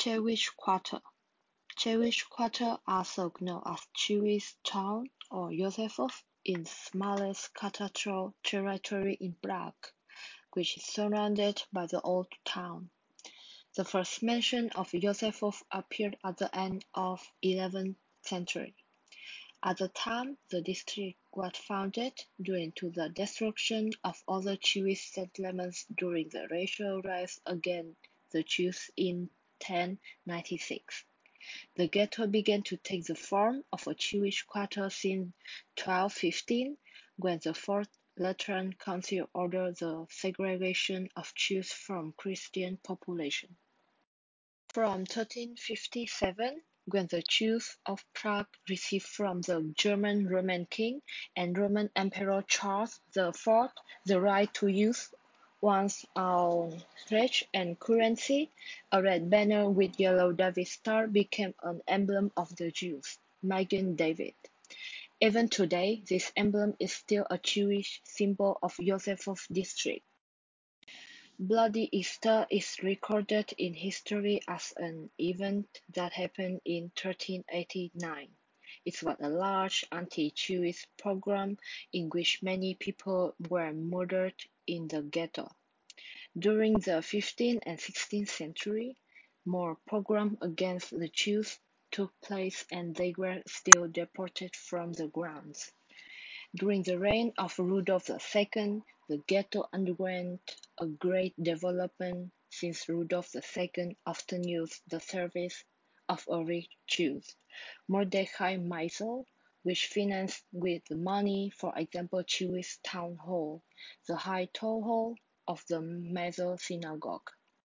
Jewish Quarter. Jewish Quarter, also known as Jewish Town or Józefów, is the smallest cathedral territory in Prague, which is surrounded by the old town. The first mention of Józefów appeared at the end of 11th century. At the time, the district was founded due to the destruction of other Jewish settlements during the racial rise against the Jews in 1096. The ghetto began to take the form of a Jewish quarter since 1215, when the Fourth Lateran Council ordered the segregation of Jews from Christian population. From 1357, when the Jews of Prague received from the German Roman king and Roman Emperor Charles IV the right to use one's own flesh and currency, a red banner with yellow David star became an emblem of the Jews, Magen David. Even today, this emblem is still a Jewish symbol of Józefów district. Bloody Easter is recorded in history as an event that happened in 1389. It was a large anti-Jewish pogrom in which many people were murdered in the ghetto. During the 15th and 16th century, more pogroms against the Jews took place and they were still deported from the grounds. During the reign of Rudolf II, the ghetto underwent a great development since Rudolf II often used the service of a rich Jew, Mordechai Meisel, which financed with money, for example, Jewish town hall, the high toll hall of the Meisel synagogue.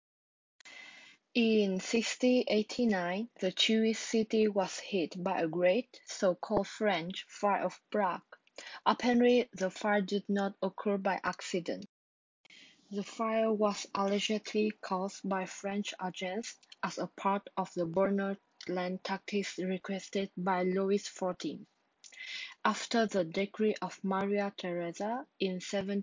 In 1689, the Jewish city was hit by a great, so-called French fire of Prague. Apparently, the fire did not occur by accident. The fire was allegedly caused by French agents as a part of the burner land tactics requested by Louis XIV. After the decree of Maria Theresa in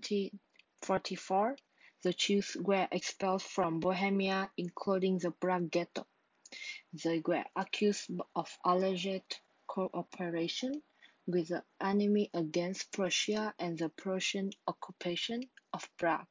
1744, the Jews were expelled from Bohemia, including the Prague ghetto. They were accused of alleged cooperation with the enemy against Prussia and the Prussian occupation of Prague.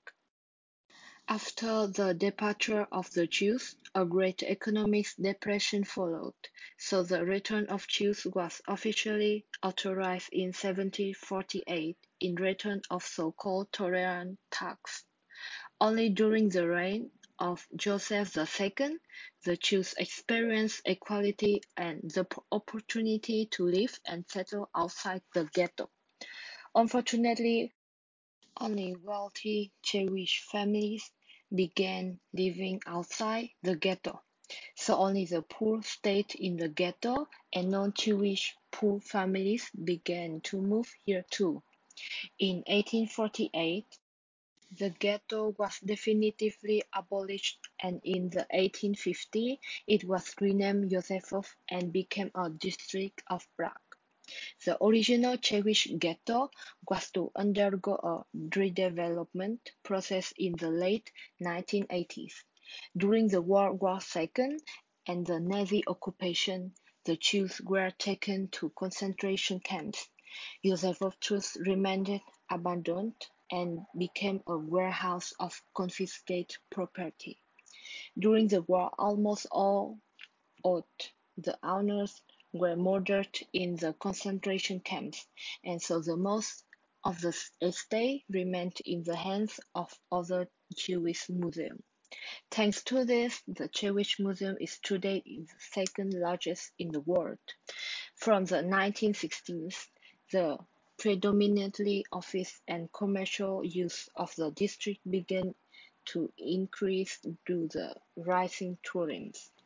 After the departure of the Jews, a great economic depression followed, so the return of Jews was officially authorized in 1748 in return of so-called tolerant tax. Only during the reign of Joseph II, the Jews experienced equality and the opportunity to live and settle outside the ghetto. Unfortunately, only wealthy Jewish families began living outside the ghetto, so only the poor stayed in the ghetto and non-Jewish poor families began to move here too. In 1848, the ghetto was definitively abolished, and in the 1850s it was renamed Józefów and became a district of Prague. The original Jewish ghetto was to undergo a redevelopment process in the late 1980s. During the World War II and the Nazi occupation, the Jews were taken to concentration camps. Józefów thus remained abandoned and became a warehouse of confiscated property. During the war, almost all of the owners were murdered in the concentration camps, and so the most of the estate remained in the hands of other Jewish museums. Thanks to this, the Jewish Museum is today the second largest in the world. From the 1960s, the predominantly office and commercial use of the district began to increase due to the rising tourism.